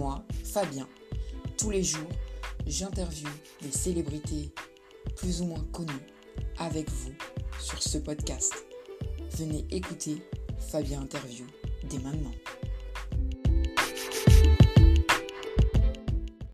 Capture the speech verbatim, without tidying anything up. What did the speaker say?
moi, Fabien. Tous les jours, j'interviewe des célébrités plus ou moins connues avec vous sur ce podcast. Venez écouter Fabien Interview dès maintenant.